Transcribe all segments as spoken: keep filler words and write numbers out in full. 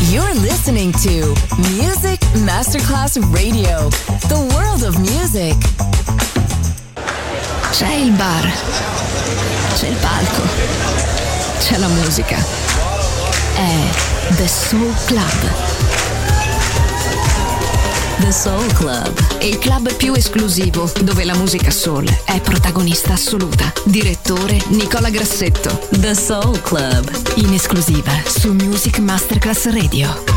You're listening to Music Masterclass Radio, the world of music. C'è il bar, c'è il palco, c'è la musica. È The Soul Club. The Soul Club, il club più esclusivo dove la musica soul è protagonista assoluta. Direttore Nicola Grassetto. The Soul Club, in esclusiva su Music Masterclass Radio.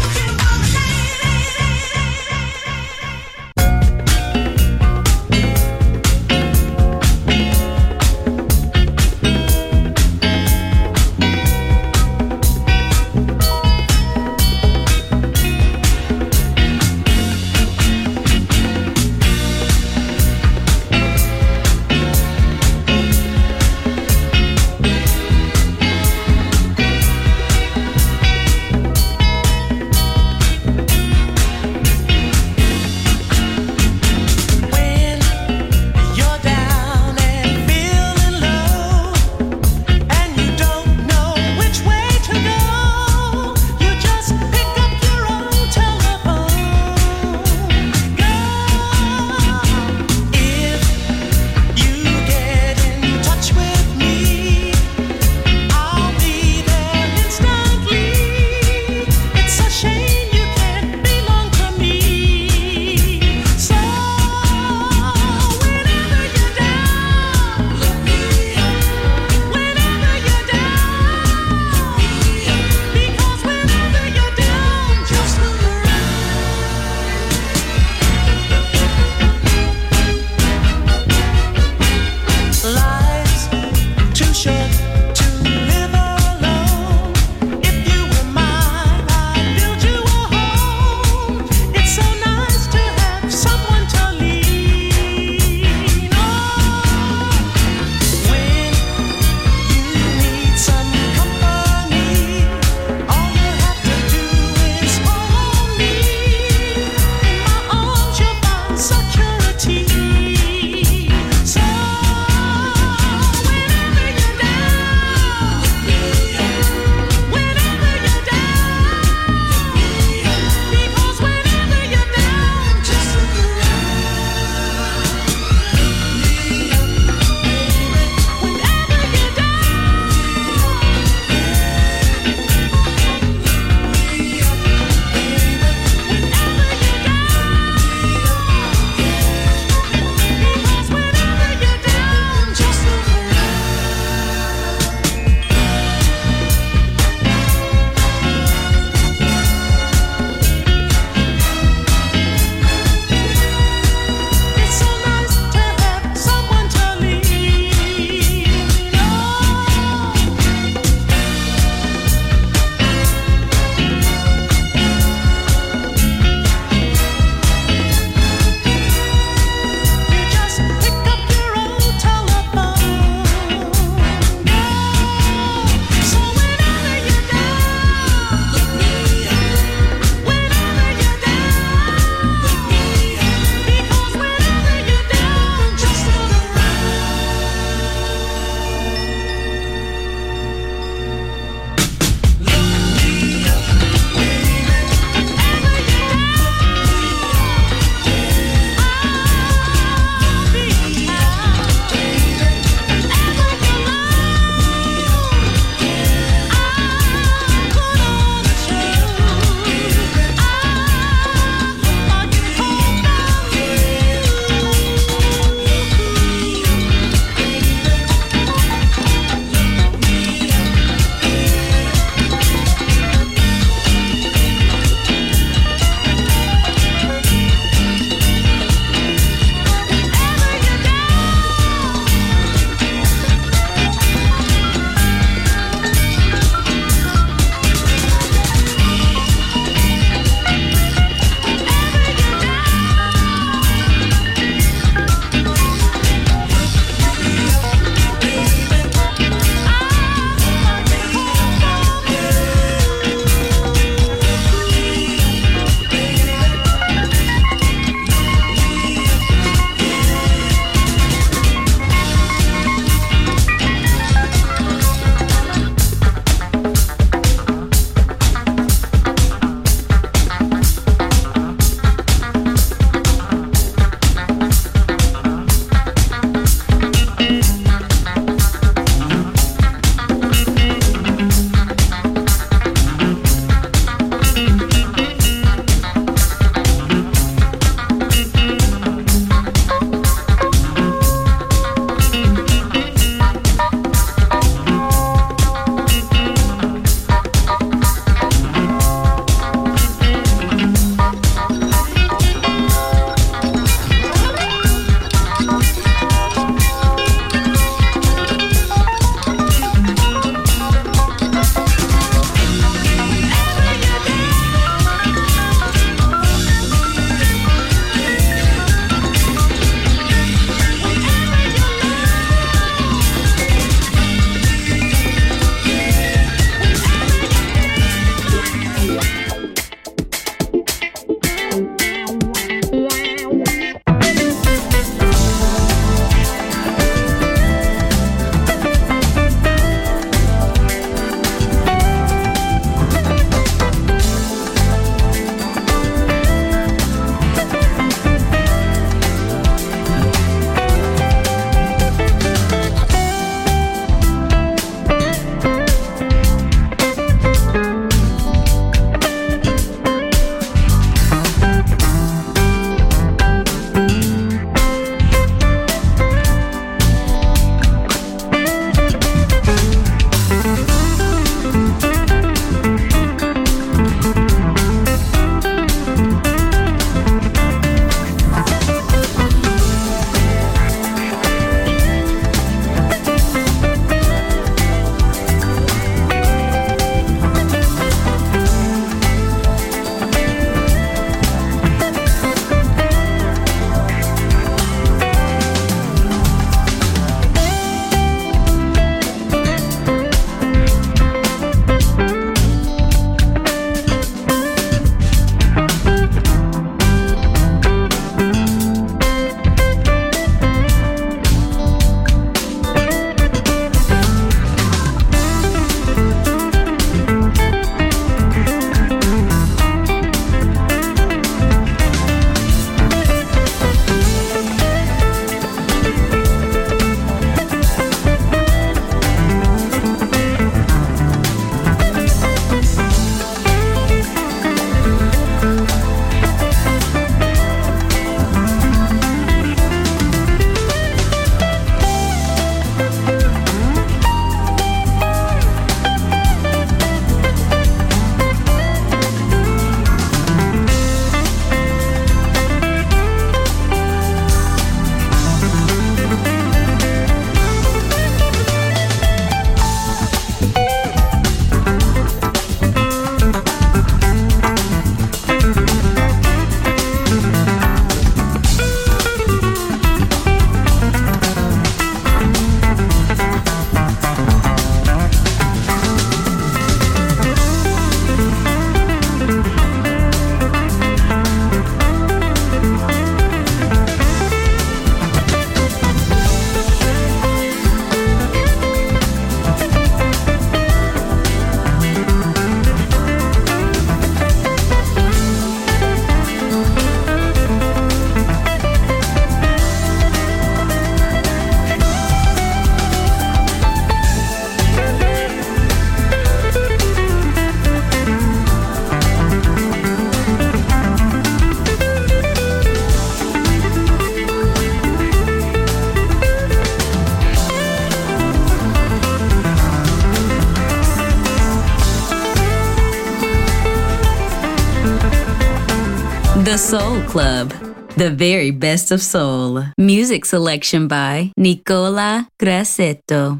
The Soul Club, the very best of soul. Music selection by Nicola Grassetto.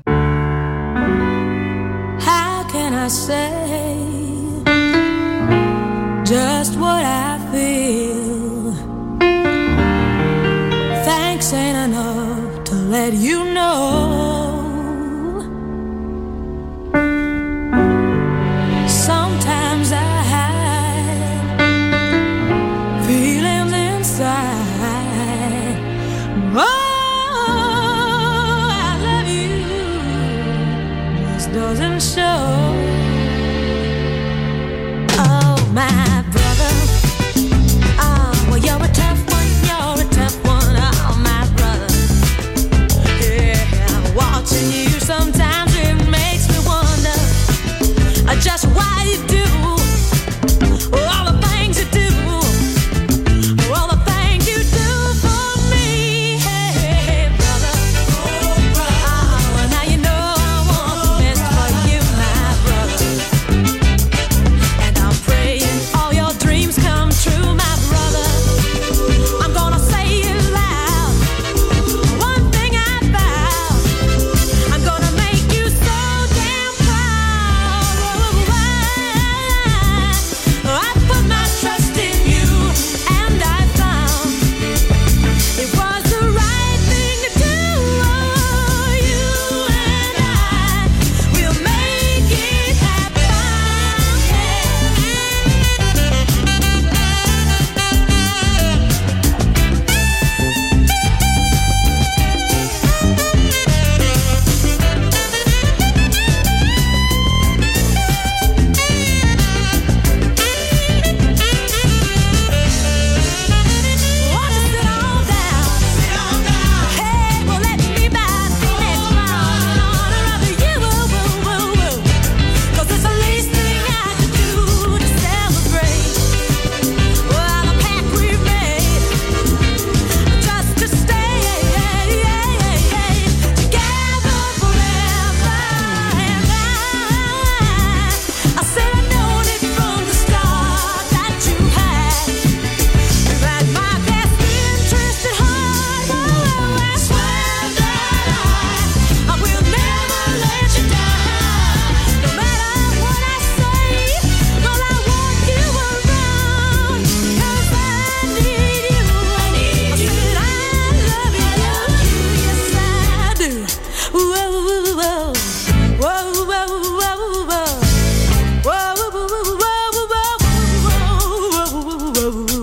How can I say just what I feel? Thanks ain't enough to let you know. Sometimes I hide feelings inside. Oh, I love you, this doesn't show. Oh, my brother, oh, well, you're a tough one, you're a tough one, oh, my brother. Yeah, watching you sometimes it makes me wonder just why you do all the things you do, all the things you do for me. Hey, brother, oh, brother. Oh, now you know I want the best for you, my brother. And I'm praying all your dreams come true, my brother. I'm gonna say it loud, one thing I vow, I'm gonna make you so damn proud. I put my trust in you, and I found it was the right thing to do. You and I will make it happen. Want to sit on down? Hey, well, let me buy the next round in honor of you. 'Cause it's the least thing I could do to celebrate. Well, the pact we've made, just to stay together forever. And I, I said I known it from the start that you had. That my best interest at heart. Oh, I swear that I, I will never let you down. No matter what I say, well, I want you around. 'Cause I need you. I need you. I love you. Yes, I do. Whoa, whoa, whoa. Whoa, whoa, whoa, whoa. Whoa, whoa, whoa, whoa, whoa, whoa, whoa, whoa, whoa.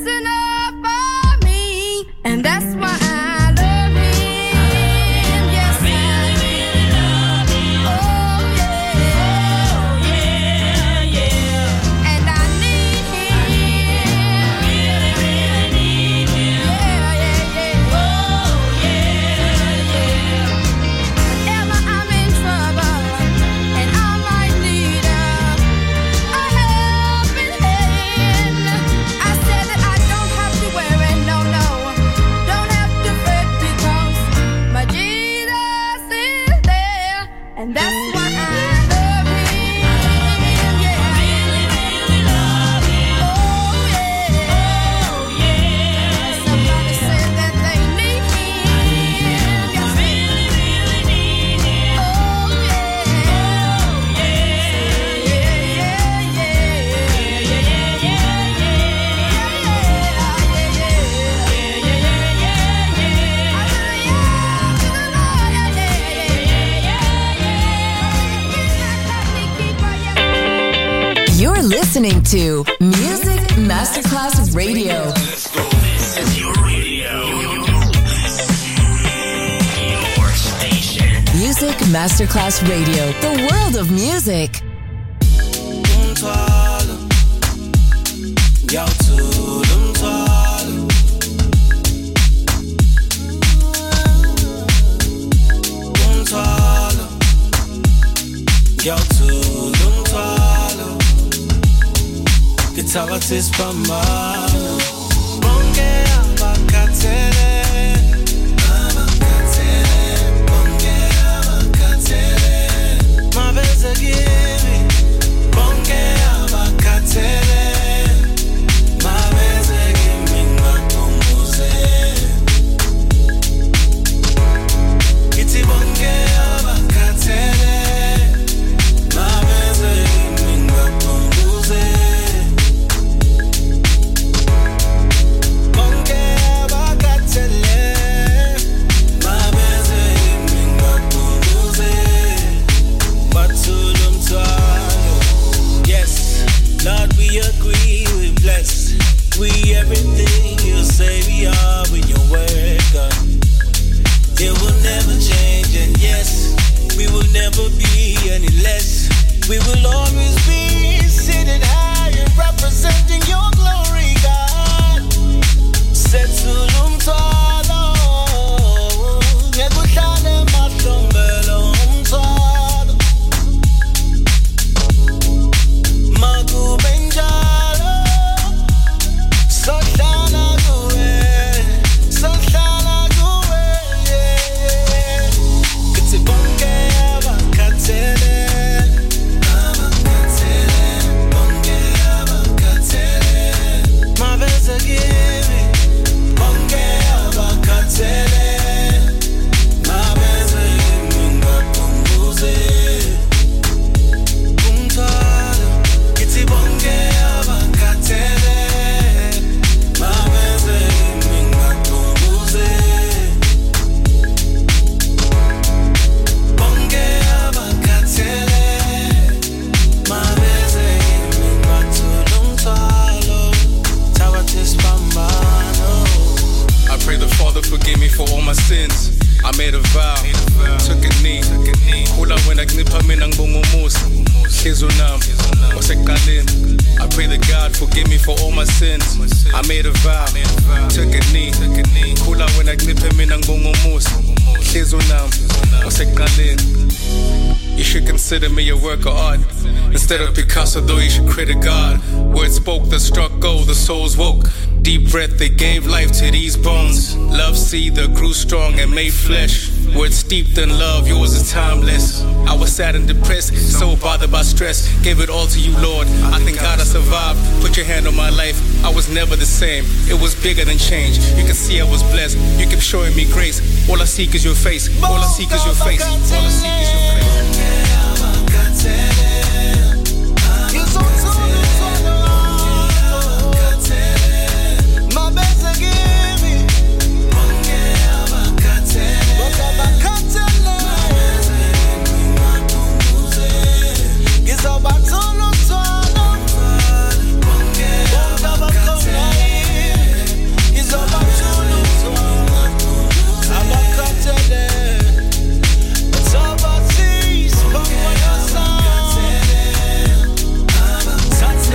And that's why I love him. Yes, listening to Music Masterclass Radio. Let's go. This is your radio. Your station. Music Masterclass Radio. The world of music. Gitawatis pamano bonge abakatele abakatele bonge abakatele mabeze gimi bonge abakatele mabeze gimi ngakumbuze giti bonge abakatele mabeze gimi ngakumbuze Lord, we agree, we bless. We everything you say we are when your word done. It will never change, and yes, we will never be any less. We will always be seated high and representing your glory, God. Setulum talo, nekuhlale mahlombelo umthwalo. Makubenjalo, sohlala kuwe, sohlala kuwe. Kithi bonke abakhathele, abakhathele, bonke abakhathele. Mabeze kimi, bonke abakhathele. Mabeze kimi ngakumbuze. Umthwalo Kithi bonke abakhathele mabeze kimi ngakumbuze bonke abakhathele mabeze kimi ngathula umthwalo Tawatis pambano. I pray the Father forgive me for all my sins. I made a vow, took a knee. Kula wena kuncipha mina ngibonga umusa. Hliziyo nami wasekuqaleni. I pray that God forgive me for all my sins. I made a vow, took a knee. Kula wena kuncipha mina ngibonga umusa. Hliziyo nami wasekuqaleni. You should consider me a work of art. Instead of Picasso, though, you should credit God. Words spoke that struck gold, the souls woke. Deep breath, they gave life to these bones. Love seed that grew strong and made flesh. Words steeped in love, yours is timeless. I was sad and depressed, so bothered by stress. Gave it all to you, Lord. I thank God I survived. Put your hand on my life, I was never the same. It was bigger than change. You can see I was blessed. You kept showing me grace. All I seek is your face. All I seek is your face. All I seek is your face. Touch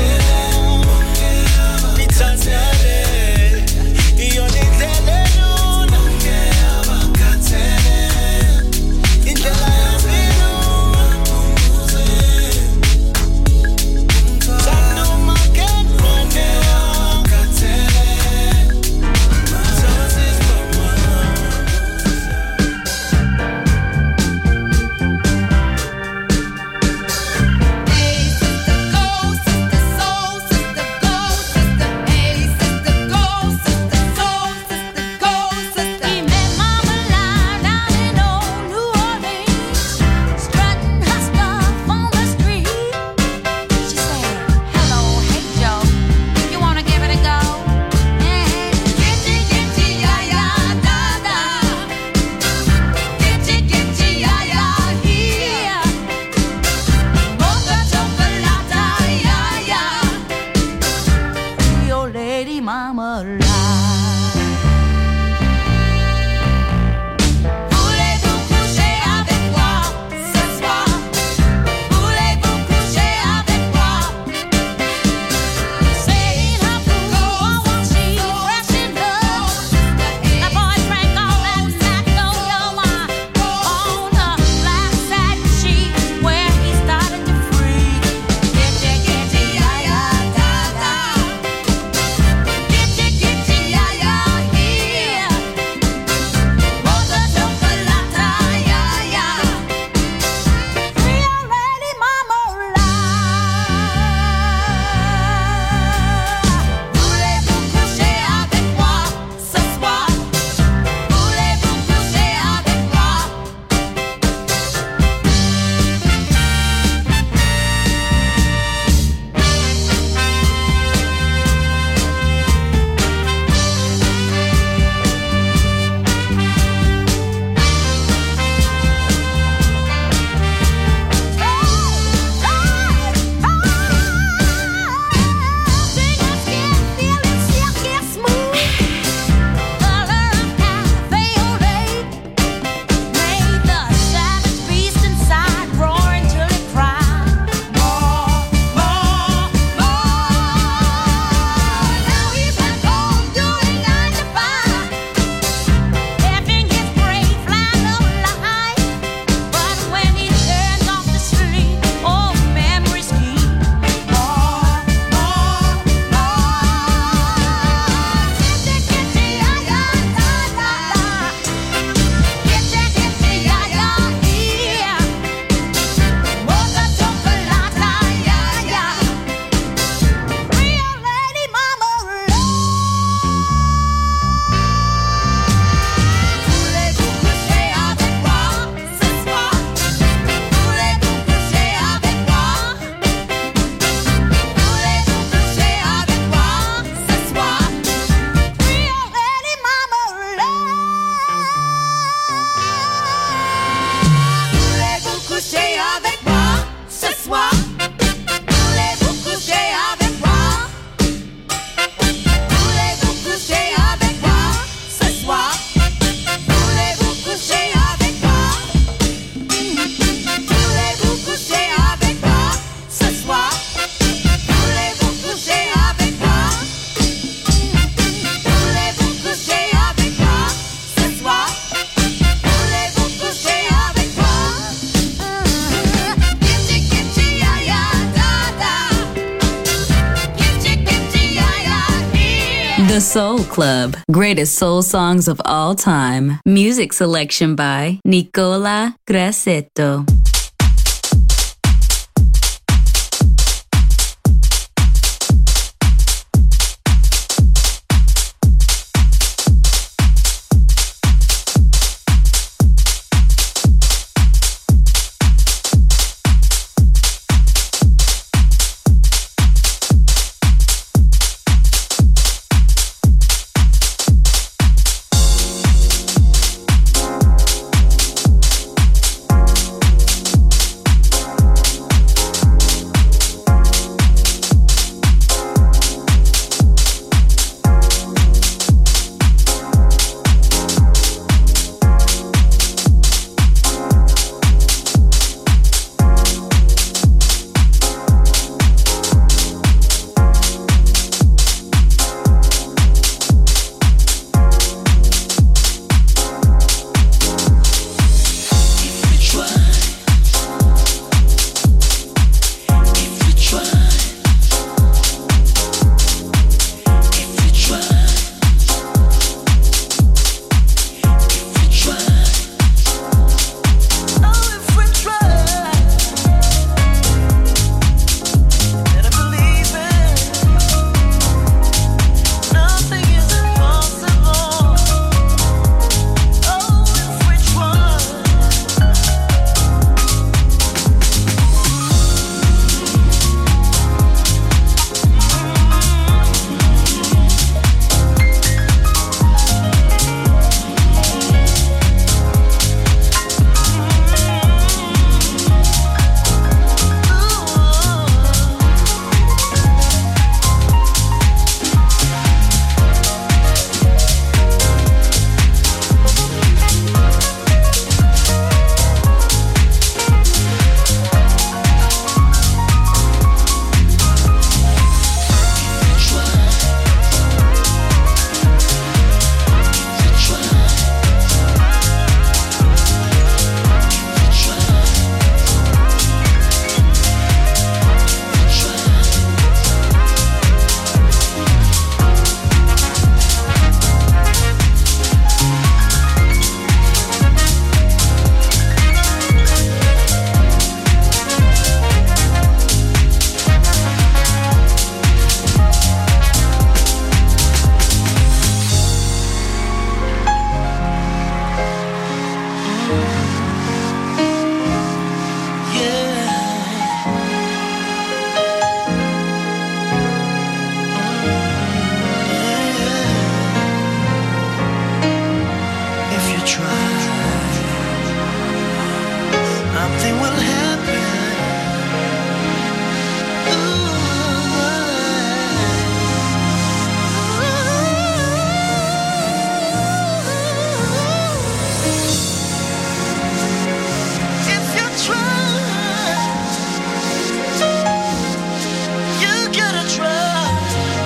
The Soul Club. Greatest soul songs of all time. Music selection by Nicola Grassetto.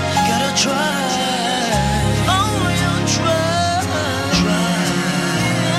Try, oh, you try, try.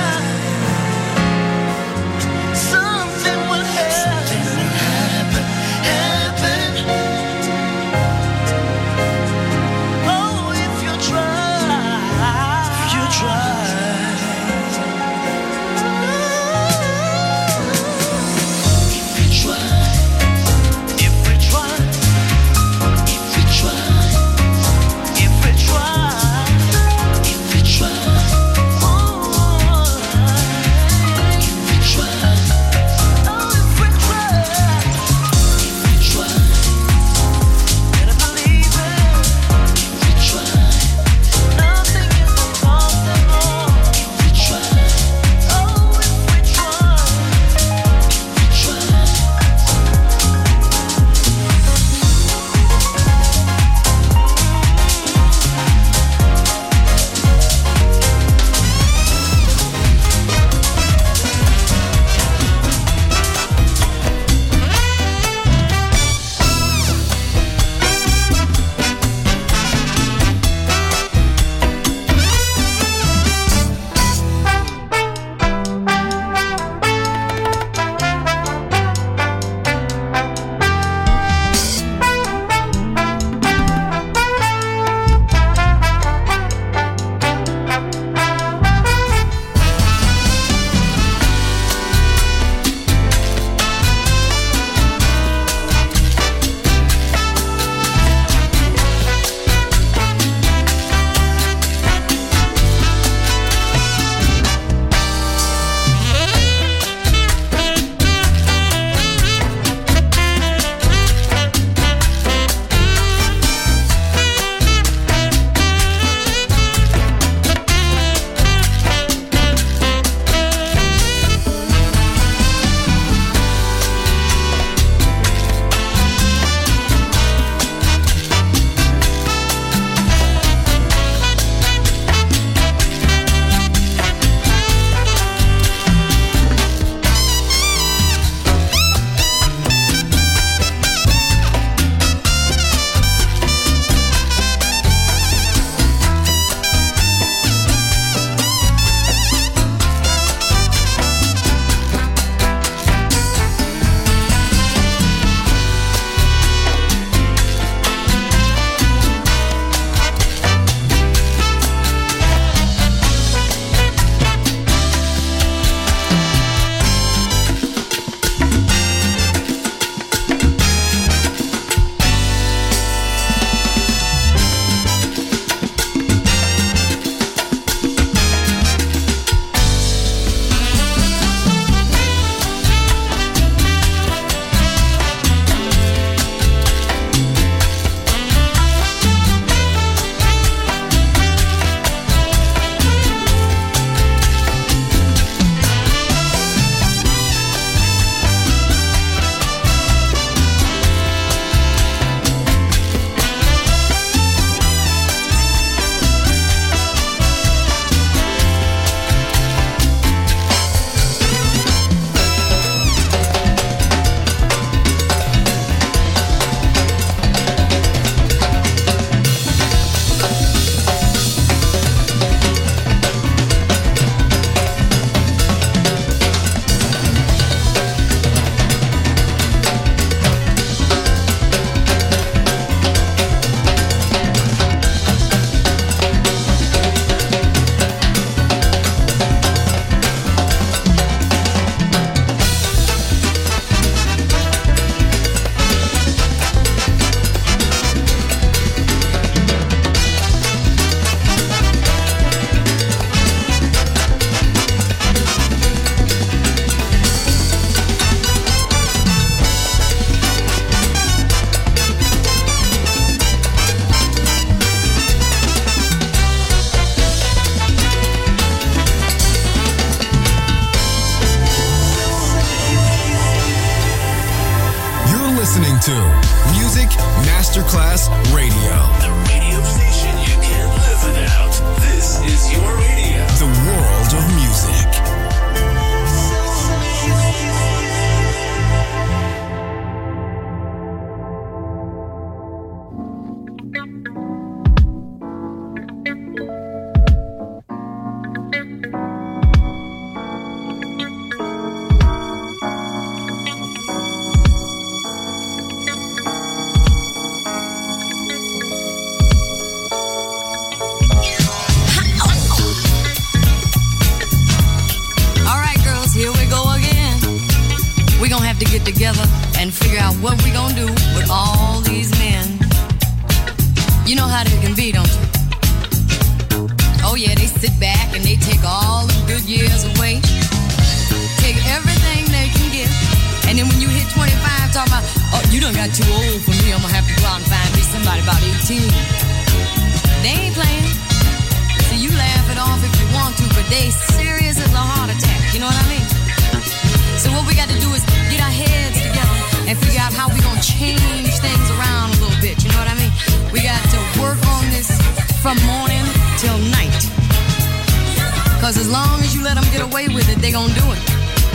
get together and figure out what we gonna do with all these men. You know how they can be, don't you? Oh yeah, they sit back and they take all the good years away. Take everything they can get. And then when you hit twenty-five, talk about, oh, you done got too old for me, I'm gonna have to go out and find me somebody about eighteen. They ain't playing. So you laugh it off if you want to, but they serious as a heart attack, you know what I mean? So what we got to do is get our heads together and figure out how we gonna change things around a little bit, you know what I mean? We got to work on this from morning till night. Cause as long as you let them get away with it, they gonna do it.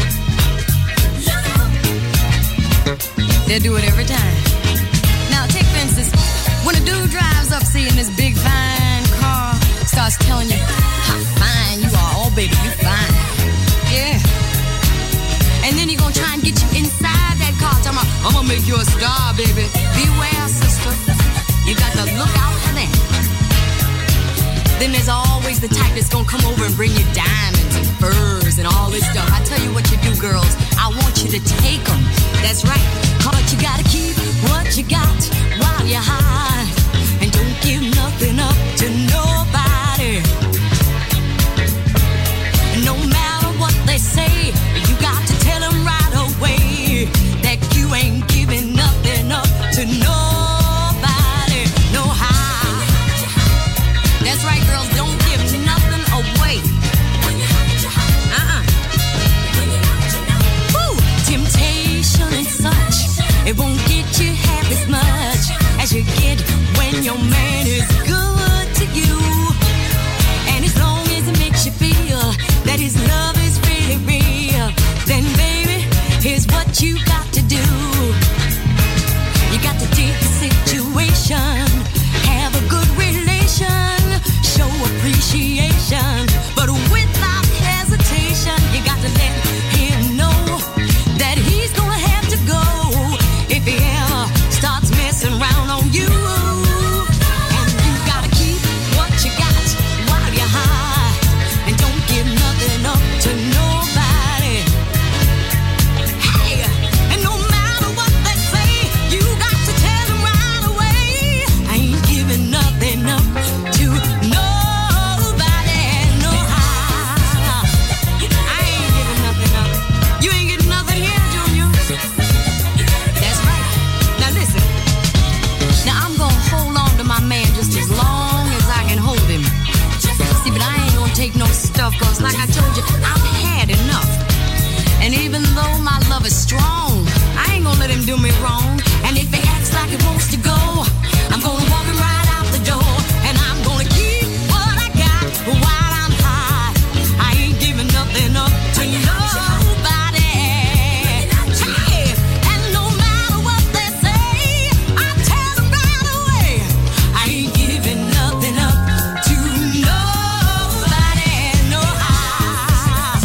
They'll do it every time. Now take for instance, when a dude drives up seeing this big fine car, starts telling you how fine you are, oh baby, you fine. Yeah. And then he gonna try and get you inside that car, talking about, I'm gonna make you a star, baby. Beware, sister. You got to look out for that. Then there's always the type that's gonna come over and bring you diamonds and furs and all this stuff. I tell you what you do, girls. I want you to take them. That's right. But you gotta keep what you got while you're high. And don't give nothing up to nobody. No matter what they say, you got to tell them right away that you ain't giving nothing up to nobody. No how. That's right, girls, don't give nothing away. Uh-uh. Woo! Temptation and such, it won't get you half as much as you get when your man is good to you. And as long as it makes you feel that his love is really real, then baby, here's what you got to do. You got to take the situation, have a good relation, show appreciation, but without hesitation, you got to let him know that he's gonna have to go if he ever starts messing around on you. And you gotta keep what you got while you're high, and don't give nothing up to nobody. Hey, and no matter what they say, you got to tell them right away, I ain't giving nothing up to nobody. No how. I ain't giving nothing up. You ain't getting nothing here, Junior. That's right. Now listen. Now I'm gonna hold on to my man just as long as I can hold him. See, but I ain't gonna take no stuff, cause like I told you, I've had enough. And even though my love is strong, I ain't gonna let him do me wrong. And if he acts like he wants to go, I'm gonna walk him right out the door. And I'm gonna keep what I got while I'm high. I ain't giving nothing up to nobody. Hey, and no matter what they say, I tell them right away, I ain't giving nothing up to nobody. No how.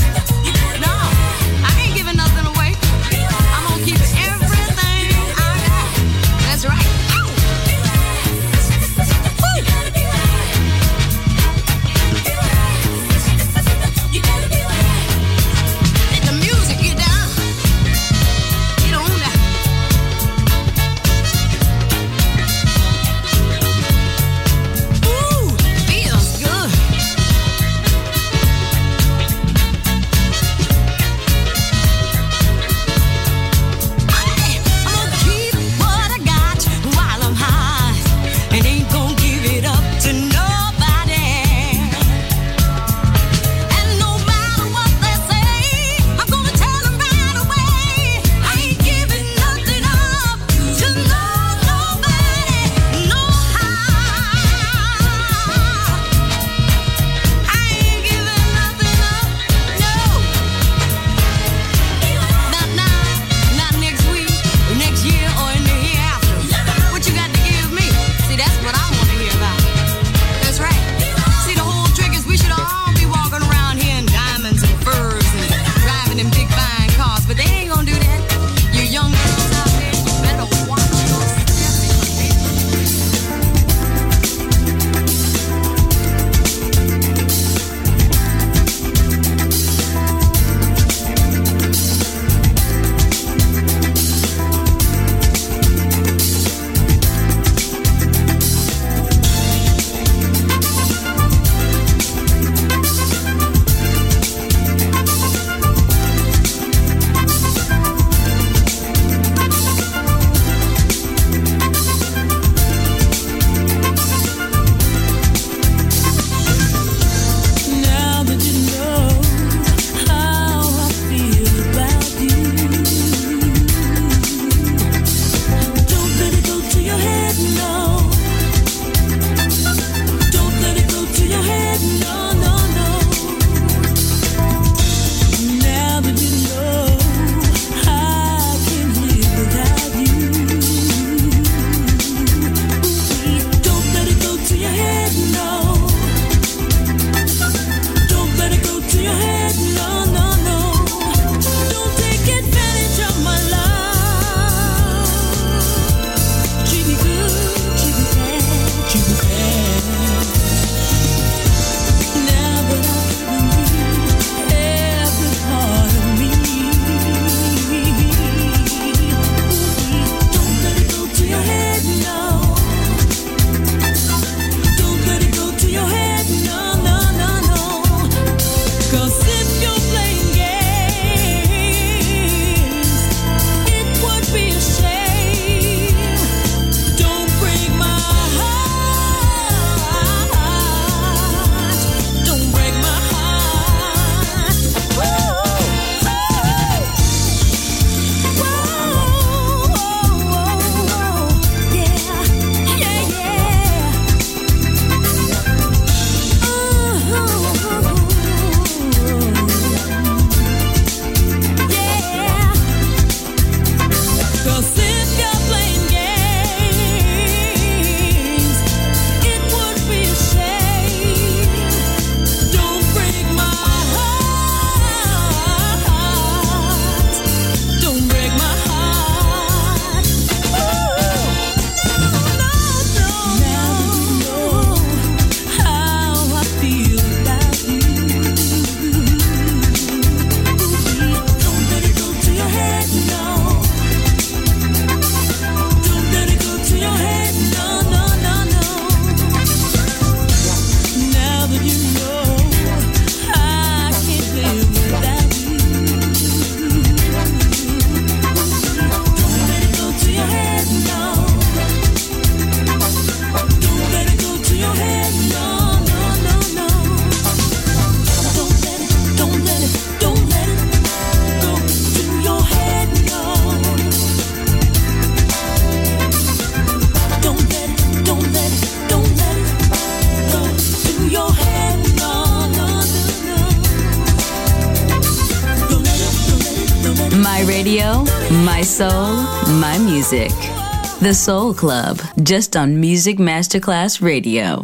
radio, my soul, my music. The Soul Club, just on Music Masterclass Radio.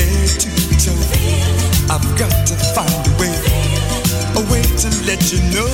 You know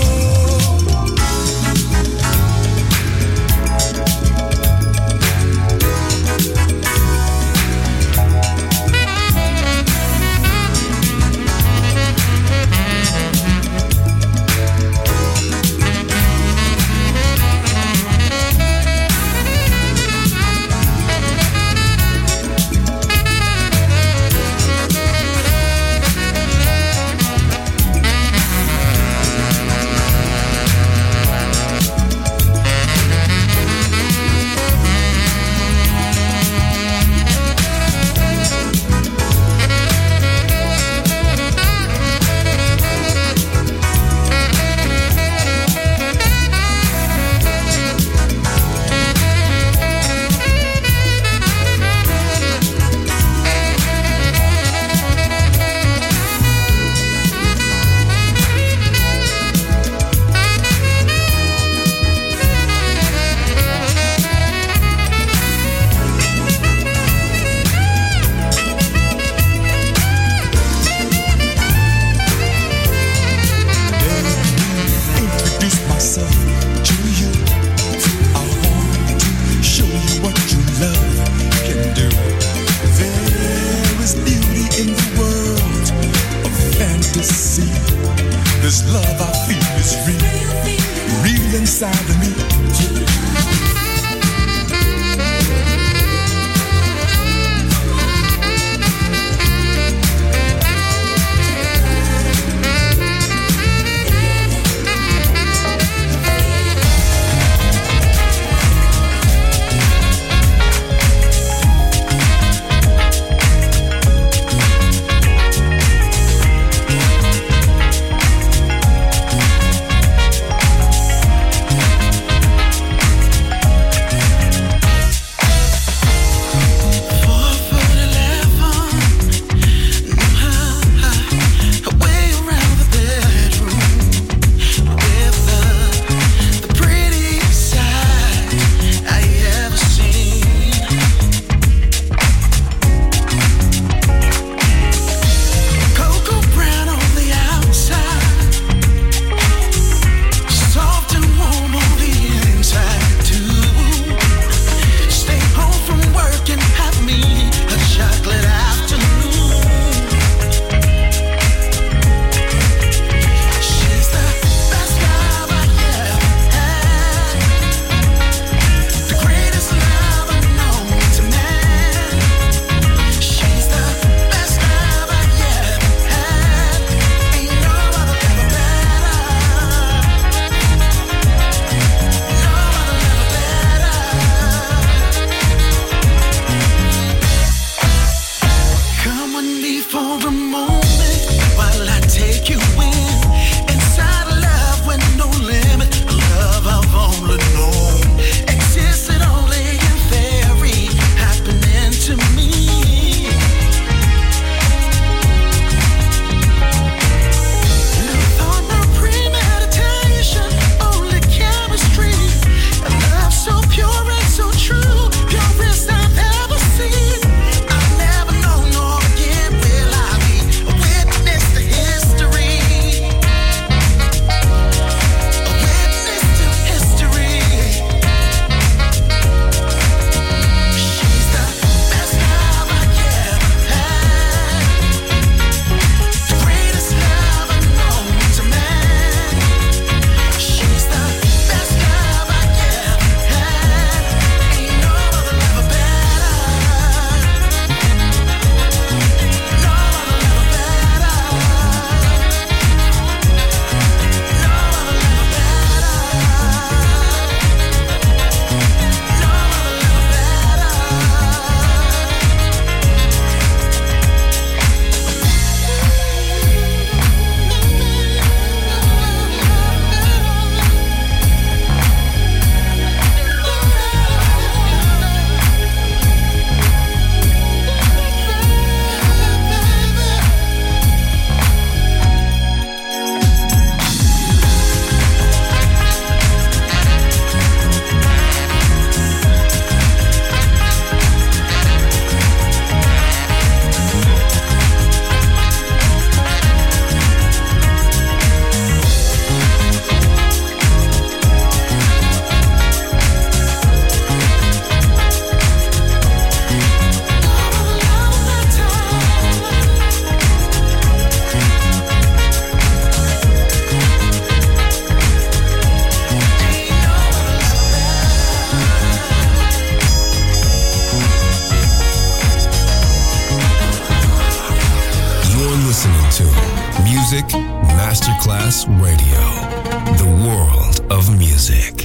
Masterclass Radio, the world of music.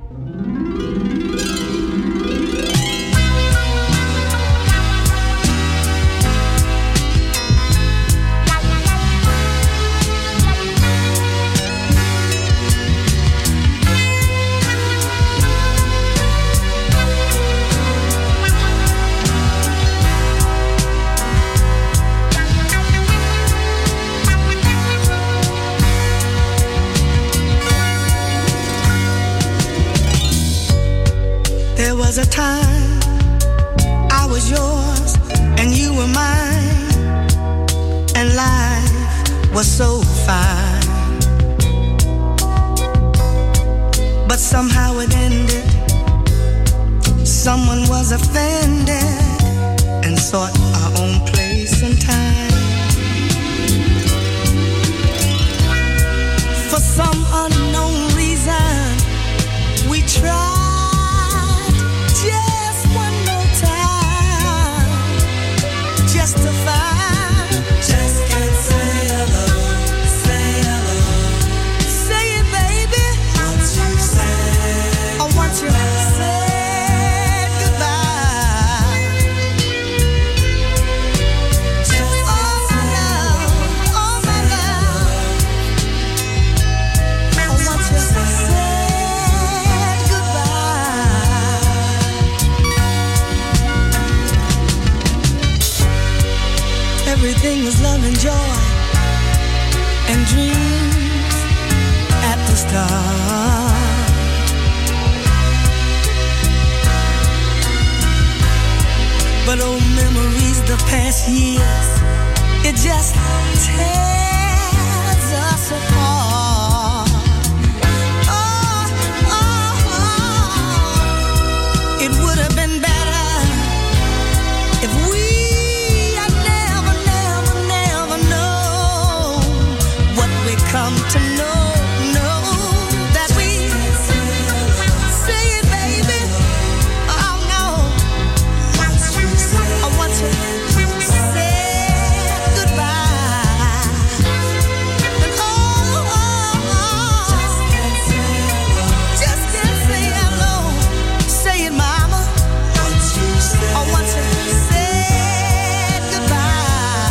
Was a time I was yours and you were mine, and life was so fine. But somehow it ended. Someone was offended and sought our own place and time. For some unknown reason, we tried. Just one more time, just to find. Just can't say hello, say hello. Say it, baby. Once you say, I want you to say goodbye. Just oh my love, oh my love. I want you to say. Everything was love and joy and dreams at the start. But old memories, the past years, it just tears us apart. Oh, oh, oh. It would have been better if we come to know, know that we say it, baby. Oh no, I want to say goodbye. And oh, oh, oh, just can't say hello. Say it, mama. I want to say goodbye.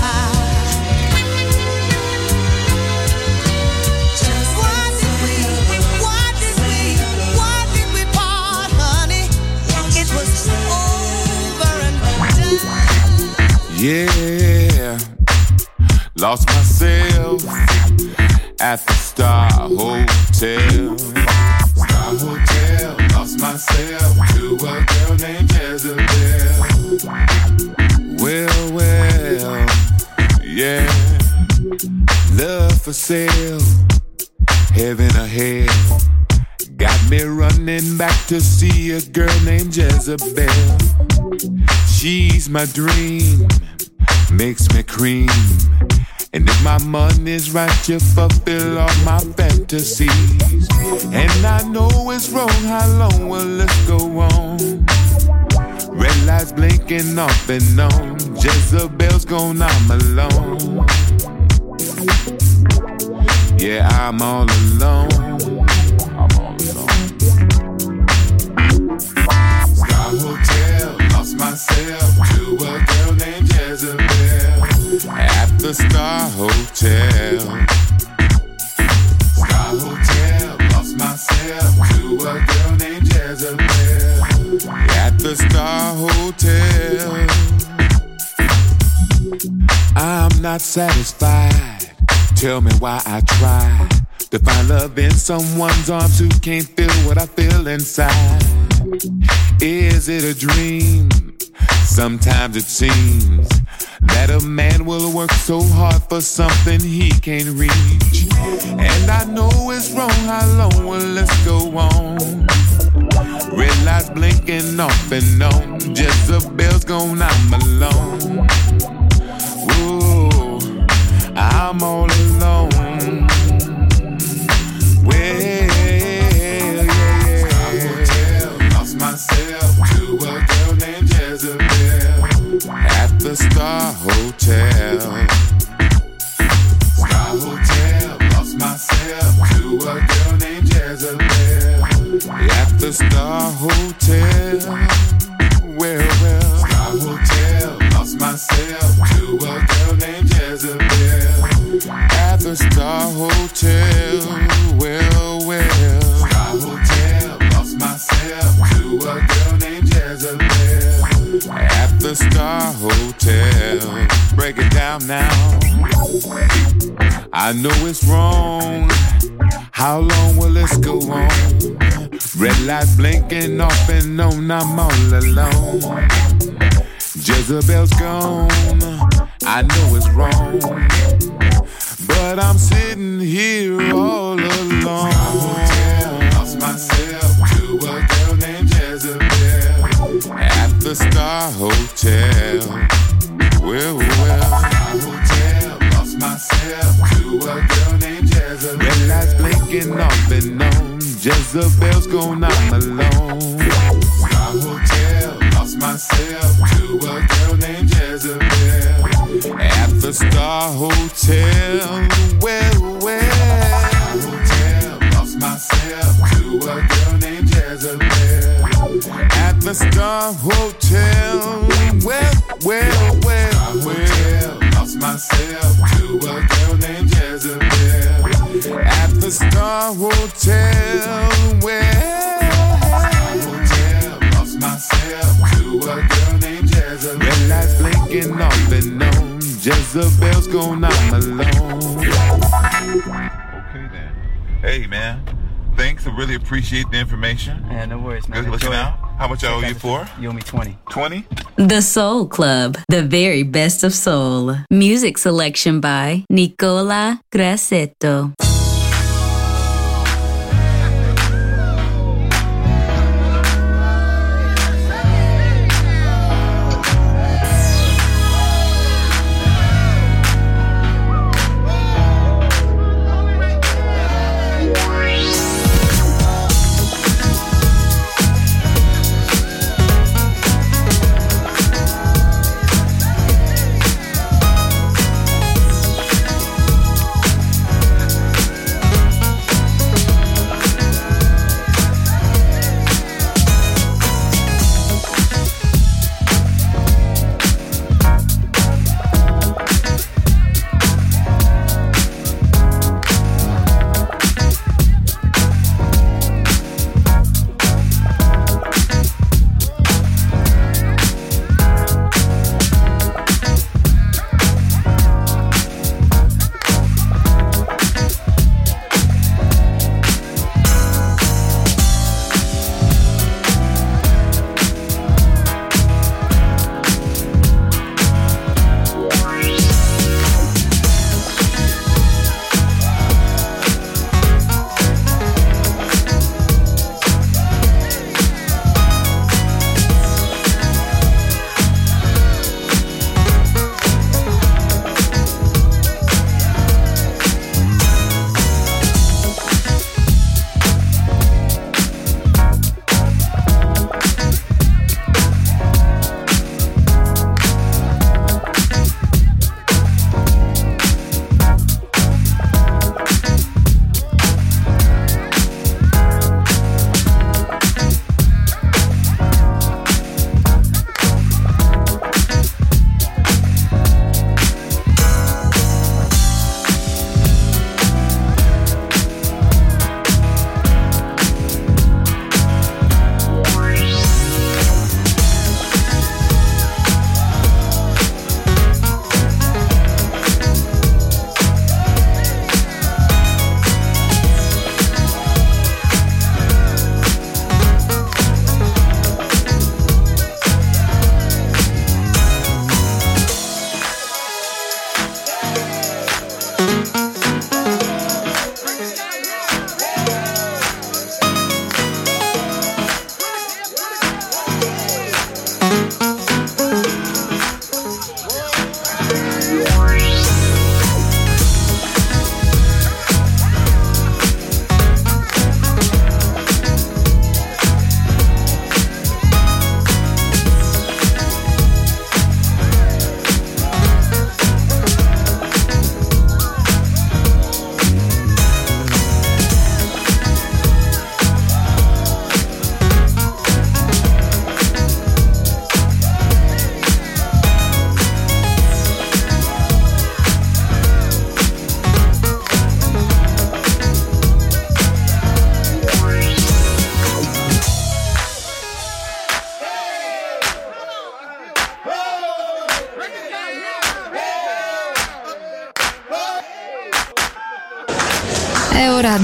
Yeah, lost myself at the Star Hotel. Star Hotel, lost myself to a girl named Jezebel. Well, well, yeah, love for sale, heaven or hell. Got me running back to see a girl named Jezebel. She's my dream, makes me cream. And if my money's right, you fulfill all my fantasies. And I know it's wrong, how long will this go on? Red lights blinking off and on, Jezebel's gone, I'm alone. Yeah, I'm all alone. I'm all alone. Star Hotel, lost myself to a girl named Jezebel. At the Star Hotel. Star Hotel, lost myself to a girl named Jezebel. At the Star Hotel. I'm not satisfied. Tell me why I try to find love in someone's arms who can't feel what I feel inside. Is it a dream? Sometimes it seems that a man will work so hard for something he can't reach. And I know it's wrong, how long will this go on? Red lights blinking off and on, Jezebel's gone, I'm alone. Ooh, I'm all alone. Well, yeah, yeah. Star Hotel, lost myself to a girl named Jezebel. At the Star Hotel. Star Hotel, lost myself at the Star Hotel. Well, well, Star Hotel, lost myself to a girl named Jezebel. At the Star Hotel, well, well, Star Hotel, lost myself to a girl named Jezebel. At the Star Hotel, break it down now. I know it's wrong. How long will this go on? Red lights blinking off and on, I'm all alone. Jezebel's gone, I know it's wrong, but I'm sitting here all alone. Hotel, lost myself to a girl named Jezebel. At the Star Hotel, well, well, Star Hotel, lost myself to a girl named Jezebel. Red lights blinking off and on, Jezebel's gone, I'm alone. Star Hotel, lost myself to a girl named Jezebel. At the Star Hotel, well, well, Star Hotel, lost myself to a girl named Jezebel. At the Star Hotel, well, well, well, Star Hotel, lost myself to a girl named Jezebel. At the Star Hotel, well, Star Hotel, lost myself to a girl named Jezebel. Red lights blinking off and on, Jezebel's gone, I'm alone. Okay then. Hey man, thanks. I really appreciate the information. Yeah, no worries, man. Good looking out. How much I owe you for? You owe me twenty. twenty? The Soul Club, the very best of soul. Music selection by Nicola Grassetto.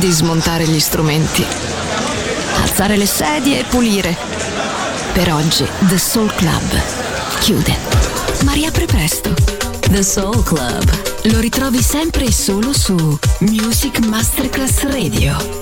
di smontare gli strumenti, alzare le sedie e pulire. Per oggi The Soul Club chiude, ma riapre presto. The Soul Club lo ritrovi sempre e solo su Music Masterclass Radio.